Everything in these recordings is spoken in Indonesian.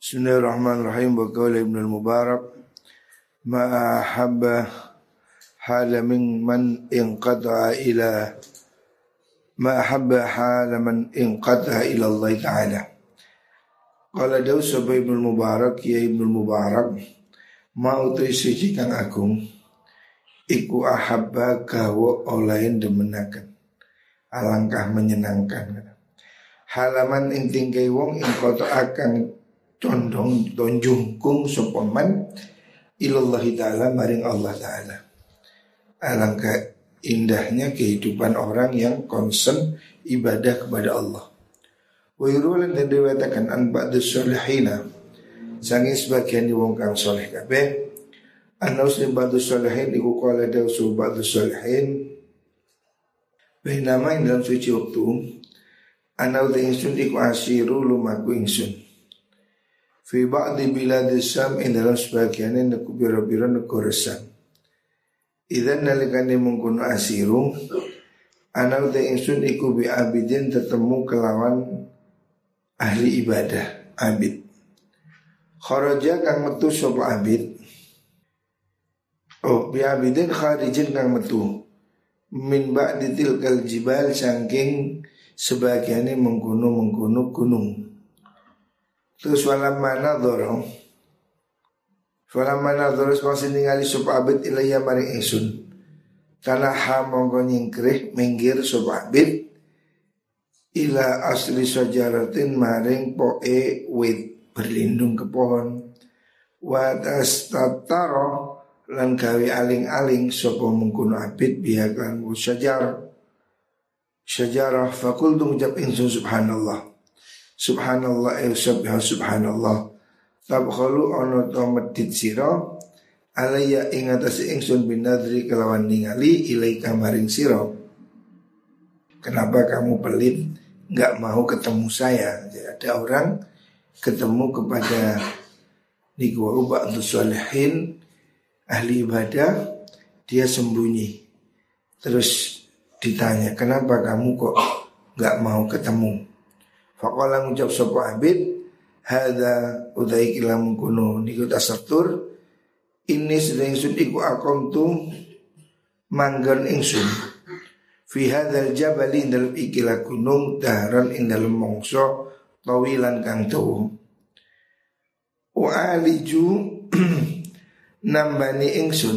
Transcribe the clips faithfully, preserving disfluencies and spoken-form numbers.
Bismillahirrahmanirrahim. Wa qala Ibnu Mubarak ma habba hala min man inqata'a ila ma habba hala man inqata'a ila Allah Ta'ala. Qala dawu sapa Ibnu Mubarak ya Ibnu Mubarak ma utai suci kang agung iku ahabba kawa olain demenaken alangkah menyenangkan halaman ing tingkai wong ing kota akan condong tonjungkung sopaman ilallahi ta'ala maring Allah ta'ala. Alangkah indahnya kehidupan orang yang concern ibadah kepada Allah. Wa yurulan dan diwatakan an ba'dus solihina sangi sebagian di wong kang soleh kabeh anaus li ba'dus solihin iku qala dawsu ba'dus solihin bainama ing dalam suci waktu anau de ingsun iku asiru lumaku ingsun fi ba'di biladis Syam ing dalam sebagian negara biro-biro negara Syam. Idzan nalikane mengkono asiru ana uta ingsun iku bi abidin tetemu kelawan ahli ibadah abid. Kharaja kang metu sapa abid. Oh bi abidin kharijin kang metu min ba'di tilkal jibal saking sebagiane mengkono-mengkono gunung. Terus walam mana dorong walam mana dorong semasa ningali sop abid ilayya maring ingsun karena ha mongko nyingkrih minggir sop abid ila asli sajaratin maring poe wit berlindung ke pohon wa tastataro lan gawe aling-aling sapa mengkono abid biha kan sajar sajarah fakul ngucap ingsun subhanallah subhanallah ya subhanallah tabkhalu ana ta medit sira alayya ing atase ingsun binadri kelawan ningali ilaika maring sira. Kenapa kamu pelit enggak mau ketemu saya? Jadi ada orang ketemu kepada niku ba'du sholihin ahli ibadah, dia sembunyi. Terus ditanya, "Kenapa kamu kok enggak mau ketemu?" Faqala ngucap sapa abid hadza udai kilam kuno niku tasatur ini sedang ingsun iku akontu manggon ingsun fi hadzal jabali dalam ikilah gunung daharan ing dalem mangsa tawilan kang dawa wa aliju nambani ingsun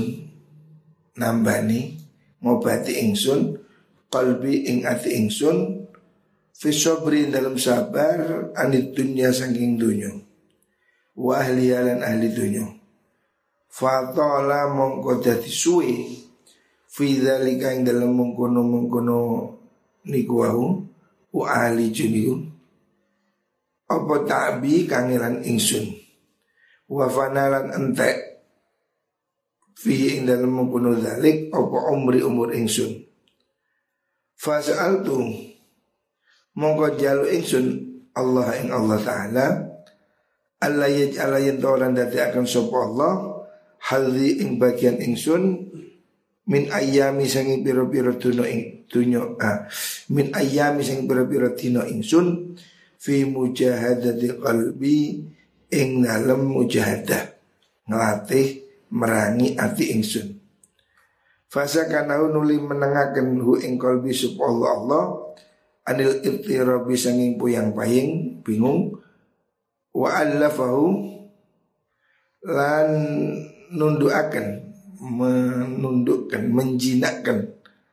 nambani ngobati ingsun qalbi ing ati ingsun fi sabri dalam sabar anit dunya saking dunya wa ahli lan ahli dunya fa ta'ala mongko dadi suwe fi dzalika ing dalam mengkono-mengkono niku wau wa ahli juniku apa ta'bi kangelan ingsun wa fanalan entek fi ing dalam mengkono dzalik apa umri umur ingsun fa sa'altu mongko jalu ingsun Allah ing Allah Ta'ala Allah yaj'ala yantoran dati akan sopa Allah hadhi ing bagian ingsun min ayyami sangi piro-piro tuno ing tunyo ah, min ayyami sangi piro-piro tino ingsun fi mujahadati qalbi ing dalam mujahadah ngelatih merangi ati ingsun fasa kanau nuli menengaken hu ing qalbi sopa Allah Allah anil ittirabi sanging puyang paying bingung wa allafahu lan nundukaken menundukkan menjinakkan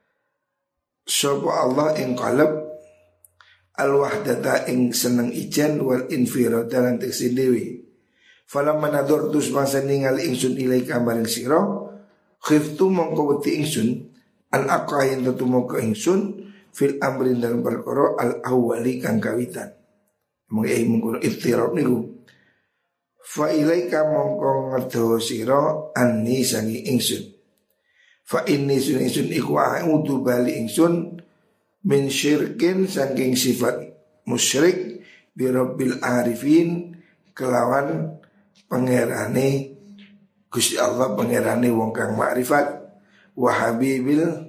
sapa Allah ing qalb al wahdata ing seneng ijan wal infirada lan teksin dewi falamma nadortu semasa ningali ingsun ilaika maring sira khiftu mongko wedi ingsun an aqahin tetumo ke ingsun fil amrin dalam perkara al awwali kang kawitan mengai mengkono iftirab niku fa ilaika mongko ngedo sira anni sangi ingsun fa inni sun ingsun iku a'udzu bali ingsun min syirkin saking sifat musyrik bi rabbil arifin kelawan pangerane Gusti Allah pangerane wong kang makrifat wa habibil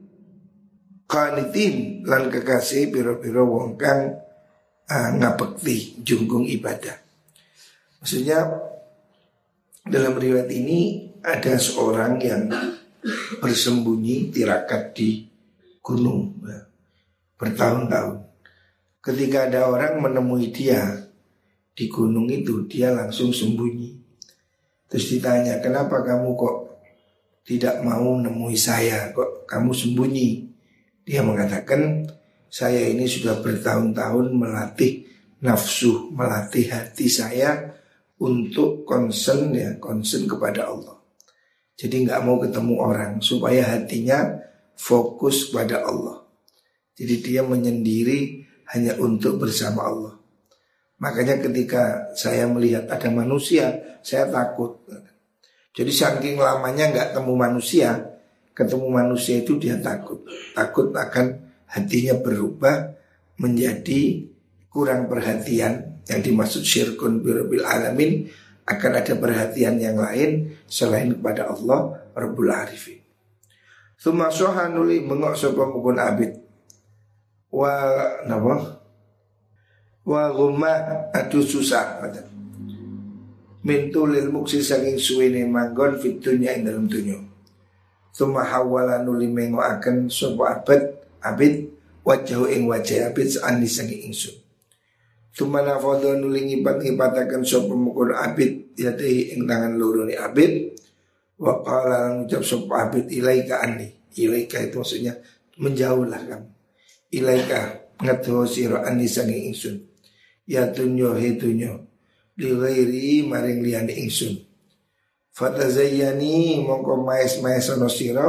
qanitin lan kekasih piro-piro wong kang uh, ngabekti junggung ibadah. Maksudnya dalam riwayat ini ada seorang yang bersembunyi tirakat di gunung ya, bertahun-tahun. Ketika ada orang menemui dia di gunung itu, dia langsung sembunyi. Terus ditanya, kenapa kamu kok tidak mau nemui saya, kok kamu sembunyi? Dia mengatakan, saya ini sudah bertahun-tahun melatih nafsu, melatih hati saya untuk concern ya, concern kepada Allah. Jadi nggak mau ketemu orang supaya hatinya fokus kepada Allah. Jadi dia menyendiri hanya untuk bersama Allah. Makanya ketika saya melihat ada manusia, saya takut. Jadi saking lamanya nggak ketemu manusia, ketemu manusia itu dia takut. Takut akan hatinya berubah menjadi kurang perhatian. Yang dimaksud syirkun birabbil alamin, akan ada perhatian yang lain selain kepada Allah Rabbul Arifin. Tsumma sohanuli mengok sapa mukun abid. Wa napa? Wa gumma adu susah. Mintulil muksi saking suwene manggon fit dunya ing dalam dunya. Tsumma hawala nuli mengoaken sapa abid abid wajhu ing wajah abid sani saking ingsun. Tsumma nafadha nuli ngipat-ngipataken sapa mukul abid yate ing tangan loro ni abid. Wa qala ngucap sapa abid ilaika anni. Ilaika itu maksudnya menjauhlah kamu. Ilaika ngadho sira anni saking ingsun. Ya dunya he dunya li ghairi maring liyane ingsun. Fatazayyani mongko maes-maes ana sira.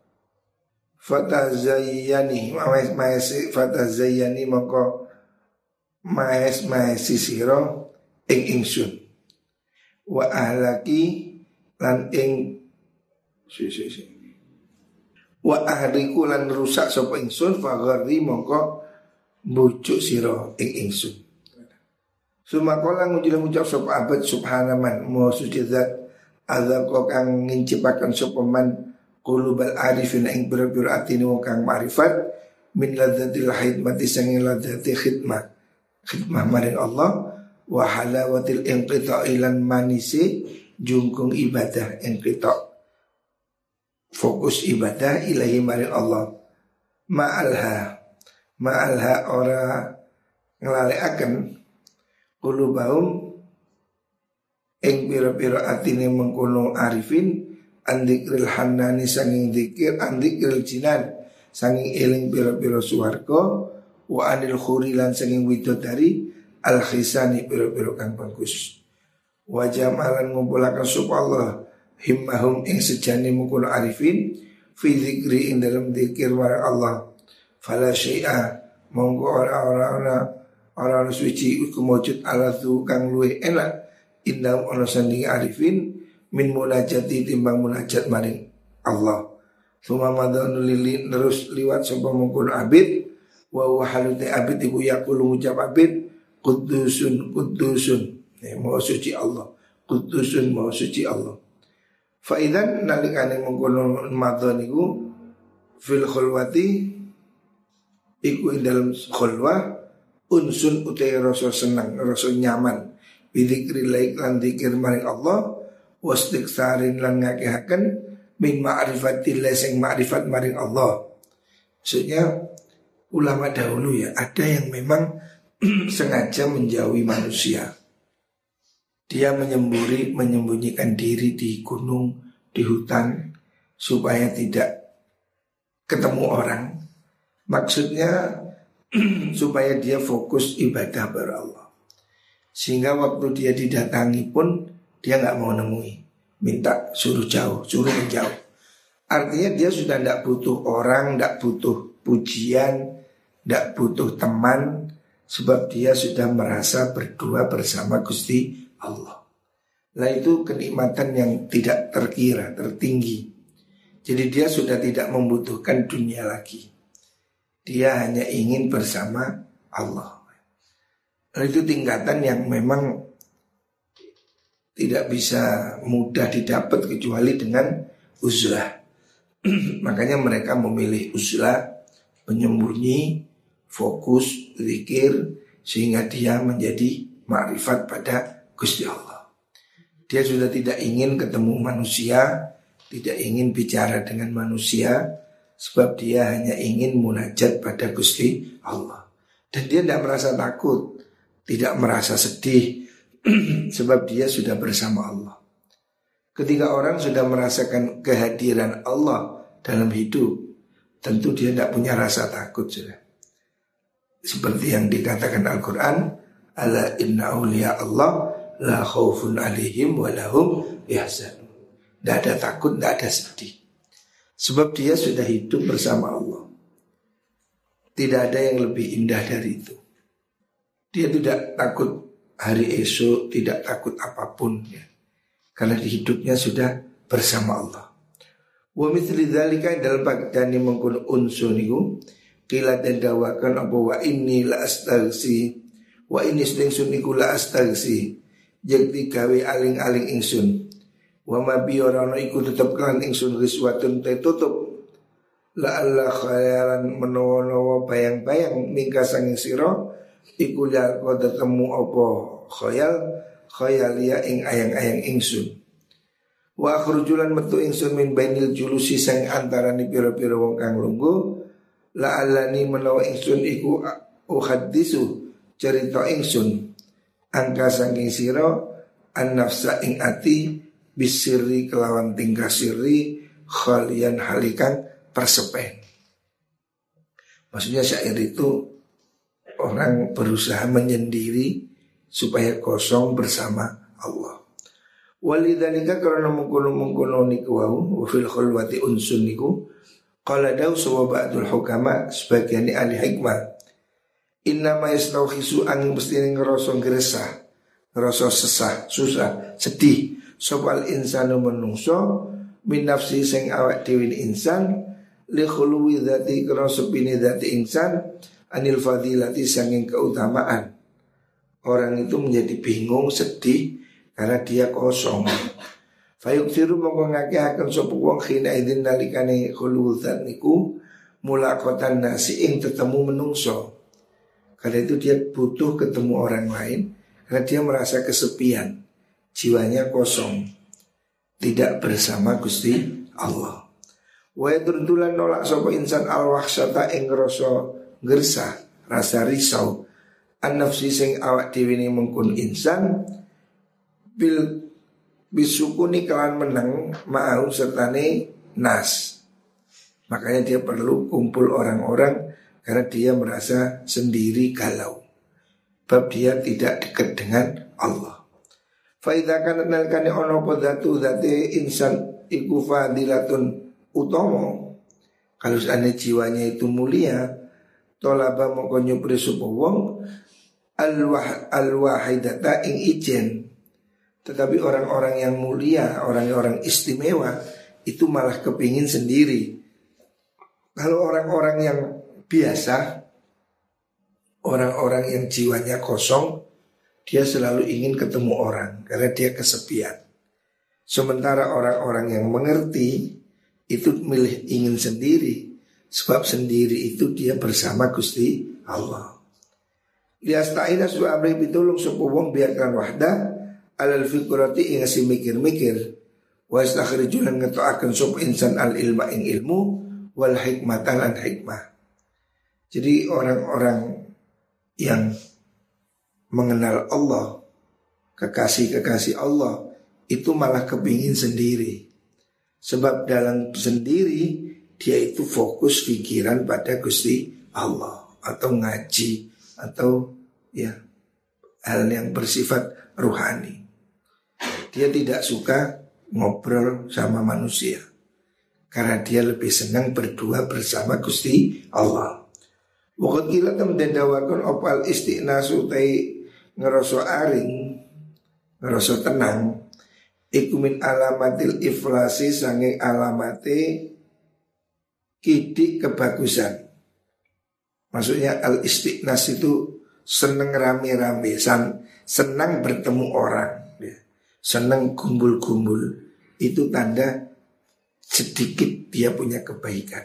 Fatazayyani maes-maes fatazayyani mongko maes-maes sira ing ingsun. Wa ahlaki lan ing si si si. Wa ahliku lan rusak sapa ingsun fagharri mongko bujuk sira ing ingsun. Sumakola ngucap sapa abad subhanaman mo suci zat azza kang ngincipaken sapa man qulubal arifin ing biro-biro atine wong kang ma'rifat min ladzatil hidmati sanging ladzati khidmah khidmah maring Allah wa halawatil inqita'i lan manisi jungkung ibadah inqita' fokus ibadah ilahi maring Allah ma'alha ma'alha ora nglalekaken qulubahum ing pira-pira atine mengkono arifin andikril hannani sanging zikir andikril jinan sanging eling pira-pira swarga wa anil khurilan sanging widodari al khisani pira-pira kang bagus wa jamalan ngumpulaken sapa Allah himmahum ing sejane mengkono arifin fi zikri ing dalam zikir wa Allah fala syai'a monggo ora-ora orang suci iku mujud ala tu kang luwe enak indam ana sanding arifin min munajati timbang munajat maring Allah. Suma madanu lili terus liwat sapa mungkun abid wa wa halute abid iku yaqulu ngucap abid qudusun qudusun ya maha suci Allah qudusun maha suci Allah. Fa idzan nalikane mungkun madhan iku fil khulwati iku ing dalam khulwah unsun utai rasa senang, rasa nyaman bidzikri laik lan zikir maring Allah wastiksarin lan ngakehaken min ma'rifatillah sing ma'rifat maring Allah. Maksudnya ulama dahulu ya ada yang memang sengaja menjauhi manusia. Dia menyemburi menyembunyikan diri di gunung, di hutan supaya tidak ketemu orang. Maksudnya supaya dia fokus ibadah kepada Allah. Sehingga waktu dia didatangi pun dia nggak mau nemui, minta suruh jauh, suruh menjauh. Artinya dia sudah tidak butuh orang, tidak butuh pujian, tidak butuh teman, sebab dia sudah merasa berdua bersama Gusti Allah. Nah itu kenikmatan yang tidak terkira, tertinggi. Jadi dia sudah tidak membutuhkan dunia lagi. Dia hanya ingin bersama Allah. Nah, itu tingkatan yang memang tidak bisa mudah didapat kecuali dengan uzlah. Makanya mereka memilih uzlah, penyembunyi, fokus, zikir, sehingga dia menjadi ma'rifat pada Gusti Allah. Dia sudah tidak ingin ketemu manusia, tidak ingin bicara dengan manusia, sebab dia hanya ingin munajat pada Gusti Allah. Dan dia tidak merasa takut, tidak merasa sedih, sebab dia sudah bersama Allah. Ketika orang sudah merasakan kehadiran Allah dalam hidup, tentu dia tidak punya rasa takut sudah. Seperti yang dikatakan Al-Quran, ala inna awliya Allah la khawfun alaihim wa lahum yahzanun. Tidak ada takut, tidak ada sedih. Sebab dia sudah hidup bersama Allah. Tidak ada yang lebih indah dari itu. Dia tidak takut hari esok, tidak takut apapun ya. Karena hidupnya sudah bersama Allah. Wa mithli dzalika dalam bagdani mengkun unsun niku qila den dawakan apa wa inni la astagsi wa inni sedengsun niku la astagsi jekti gawe aling-aling ingsun wa ma bi ora ana iku tetep kan ingsun riswatun tutup la alla khayalan menawa bayang-bayang mingka sanging sira iku ya kok ketemu apa khayal khayalia ing ayang-ayang ingsun. Wa akhrujulan metu ingsun min bainil julusi sang antarane pira-pira wong kang lungguh la alani menawa ingsun iku uhaddisu cerita ingsun angka saking sira an nafsa ing ati bisirri kelawan tingkah sirri khalian halikan persepen. Maksudnya syair itu orang berusaha menyendiri supaya kosong bersama Allah. Walidzalika karena mengkono-mengkono niku wau wa fil khulwati unsun niku qala daw sawa ba'dul hukama sebagian ahli hikmah inna ma yastauhisu angin mesti ngerasa gresah ngerasa sesah susah sedih sopal insanu menungso min nafsi sing awak dhewe insan li khuluwi dzati kana sepine dzati insan anil fadilati sanging keutamaan. Orang itu menjadi bingung sedih karena dia kosong. Fayuksiru mongko ngakehaken sapa wong khina idzin nalikane khuludzat niku mulaqatan nasi ing ketemu menungso. Karena itu dia butuh ketemu orang lain karena dia merasa kesepian, jiwanya kosong, tidak bersama Gusti Allah. Wa yadurdulan nolak sapa insan al-wahsyata ing rasa gersah, rasa risau an-nafsi sing awak dhewe ne mengkun insan bil bisukuni kawan menang ma'au sertane nas. Makanya dia perlu kumpul orang-orang karena dia merasa sendiri galau. Sebab dia tidak dekat dengan Allah. Fa idza kana nalkane ono apa zatu zate insan iku fadilatun utama. Kalau seandainya jiwanya itu mulia, tolaba mongko nyupri sapa wong al-wah al-wahidata ing ijen. Tetapi orang-orang yang mulia, orang-orang istimewa itu malah kepingin sendiri. Kalau orang-orang yang biasa, orang-orang yang jiwanya kosong, dia selalu ingin ketemu orang karena dia kesepian. Sementara orang-orang yang mengerti itu milih ingin sendiri, sebab sendiri itu dia bersama Gusti Allah. Liasta'ina su amri pitulung sapa wong biarkan wahda alal fikrati ing asih mikir-mikir wa istakhrijulan ngetoaken sapa insan al ilma ing ilmu wal hikmatan lan hikmah. Jadi orang-orang yang mengenal Allah, kekasih-kekasih Allah itu malah kepingin sendiri. Sebab dalam sendiri dia itu fokus pikiran pada Gusti Allah atau ngaji atau ya hal yang bersifat ruhani. Dia tidak suka ngobrol sama manusia karena dia lebih senang berdua bersama Gusti Allah. Waktu kita temen dawakan opal istiqnasu tai ngeroso aring, ngeroso tenang. Iku min alamatil iflasi sanging alamate kidik kebagusan. Maksudnya al-istiqnas itu seneng rame-rame, senang bertemu orang, ya. Senang kumpul-kumpul. Itu tanda sedikit dia punya kebaikan.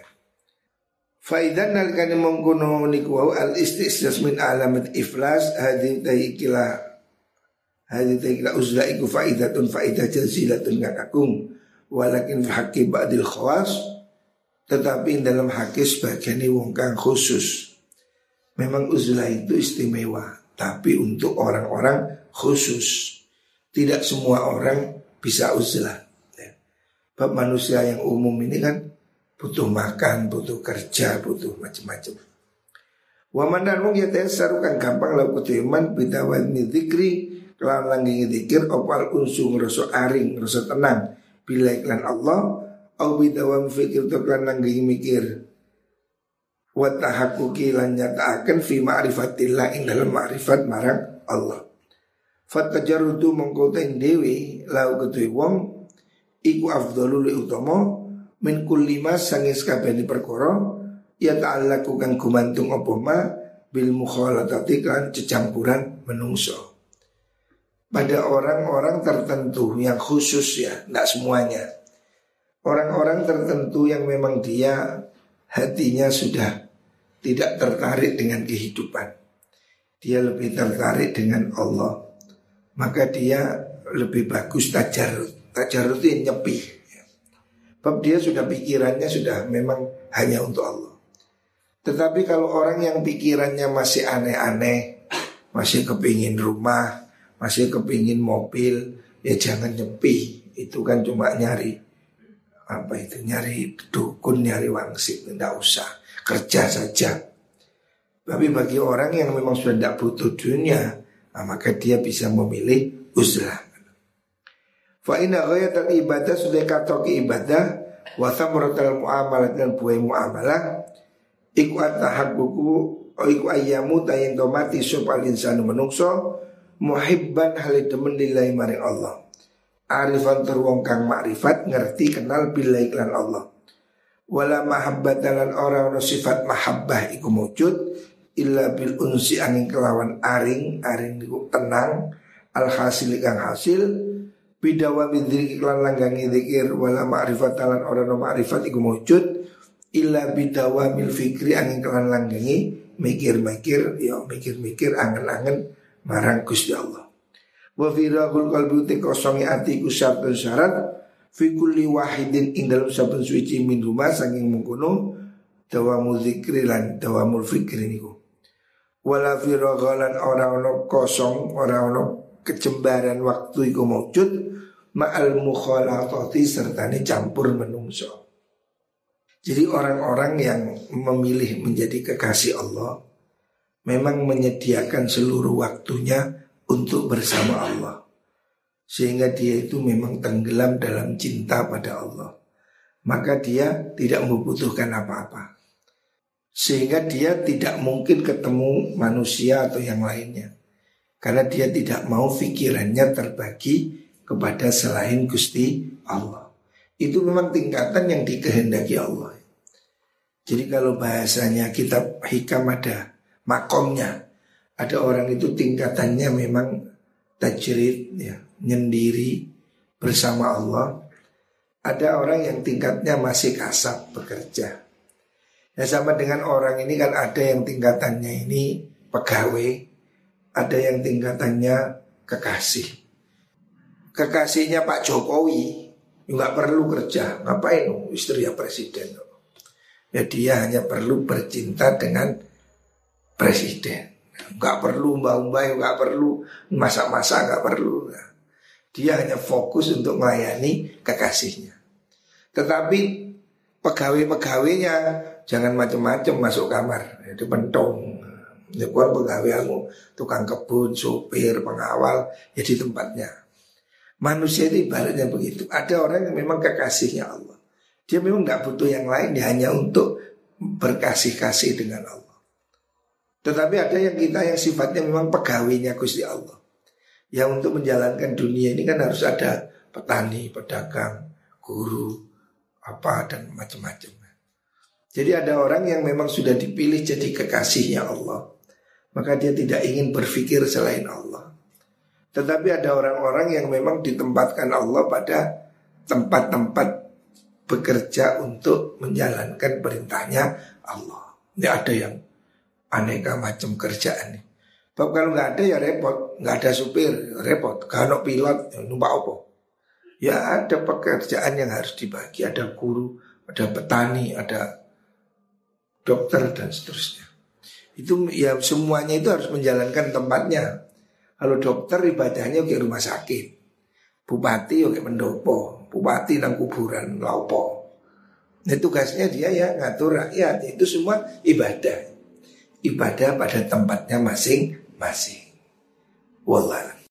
Faidan nalikane mengkono niku al-istiqnas min alamat iflas hadin taikilah Hadits kira uzlah iku faidatun faidah jazilatun ngakagung. Walakin haqqi ba'dil khawas, tetapi dalam haki sebagian wong kang khusus. Memang uzlah itu istimewa, tapi untuk orang-orang khusus. Tidak semua orang bisa uzlah. Bab manusia yang umum ini kan butuh makan, butuh kerja, butuh macam-macam. Wa man ya tayassar kan gampang laku kutuman bidawal dzikri kelawan langgi dzikir opal unsung rasa aring, rasa tenang bila iklan Allah au bidawam fikir to kan langgi mikir wa tahaqquqi lan nyataaken fi ma'rifatillah ing dalam ma'rifat marang Allah. Fatajarrudu mongko ten dewi lau kutu wong iku afdhalul utama min kulli ma sangis kabehane perkara ya ta'allaqu kang gumantung apa ma bil mukhalatati kan cecampuran menungso. Pada orang-orang tertentu yang khusus ya, tidak semuanya. Orang-orang tertentu yang memang dia hatinya sudah tidak tertarik dengan kehidupan. Dia lebih tertarik dengan Allah. Maka dia lebih bagus tajarrud. Tajarrud itu nyepi. Sebab dia sudah pikirannya sudah memang hanya untuk Allah. Tetapi kalau orang yang pikirannya masih aneh-aneh, masih kepingin rumah, masih kepingin mobil, ya jangan nyepi. Itu kan cuma nyari apa itu, nyari dukun, nyari wangsit. Tidak usah, kerja saja. Tapi bagi orang yang memang sudah tidak butuh dunia, nah, maka dia bisa memilih uzlah. Fa inna ghayatul ibadah sudah katok ibadah wa thamaratul muamalah dan buah muamalah iku atahaqququ iku ayyamu tayang domati supal insanu menungso muhibban halidemen lillahi maring Allah. Arifan terwong kang makrifat ngerti kenal billahi iklan Allah. Wala mahabbatalan ora ono sifat mahabbah iku wujud illa bil unsi angin kelawan aring aring iku tenang alhasil kang hasil bidawa bidzikir iklan langgangi zikir wala ma'rifatalan ora ono makrifat iku wujud illa bidawa mil fikri angin kelan langgangi mikir-mikir ya mikir-mikir angen-angen marang Gusti Allah. Wa firaqul qalbi te kosongi ati ku syarat syarat fi kulli wahidin ing dalam saben suci min rumah saking mengkono dawamu zikri lan dawamul fikri niku. Wala firaqalan ora ono kosong ora ono kecembaran waktu iku maujud ma'al mukhalatati sertane campur menungso. Jadi orang-orang yang memilih menjadi kekasih Allah memang menyediakan seluruh waktunya untuk bersama Allah. Sehingga dia itu memang tenggelam dalam cinta pada Allah. Maka dia tidak membutuhkan apa-apa. Sehingga dia tidak mungkin ketemu manusia atau yang lainnya. Karena dia tidak mau pikirannya terbagi kepada selain Gusti Allah. Itu memang tingkatan yang dikehendaki Allah. Jadi kalau bahasanya kitab hikam ada makomnya, ada orang itu tingkatannya memang tajrid ya, nyendiri bersama Allah. Ada orang yang tingkatnya masih kasab bekerja. Ya sama dengan orang ini kan ada yang tingkatannya ini pegawai, ada yang tingkatannya kekasih. Kekasihnya Pak Jokowi nggak perlu kerja, ngapain istri ya presiden. Ya dia hanya perlu bercinta dengan presiden. Gak perlu mbak-mbak, gak perlu masak-masak, gak perlu. Dia hanya fokus untuk melayani kekasihnya. Tetapi pegawai-pegawainya jangan macam-macam masuk kamar. Itu pentong. Ya bukan pegawai kamu, tukang kebun, sopir, pengawal, ya di tempatnya. Manusia itu ibaratnya begitu. Ada orang yang memang kekasihnya Allah. Dia memang gak butuh yang lain, dia hanya untuk berkasih-kasih dengan Allah. Tetapi ada yang kita yang sifatnya memang pegawainya Gusti Allah. Yang untuk menjalankan dunia ini kan harus ada petani, pedagang, guru, apa dan macam-macam. Jadi ada orang yang memang sudah dipilih jadi kekasihnya Allah. Maka dia tidak ingin berpikir selain Allah. Tetapi ada orang-orang yang memang ditempatkan Allah pada tempat-tempat bekerja untuk menjalankan perintahnya Allah. Ini ada yang aneka macam kerjaan nih. Sebab kalau nggak ada ya repot, nggak ada supir repot, kalau pilot ya numpak apa? Ya ada pekerjaan yang harus dibagi, ada guru, ada petani, ada dokter dan seterusnya. Itu ya semuanya itu harus menjalankan tempatnya. Kalau dokter ibadahnya ke rumah sakit, bupati oke pendopo, bupati nang kuburan laupo. Nah tugasnya dia ya ngatur rakyat. Itu semua ibadah. Ibadah pada tempatnya masing-masing. Wallah.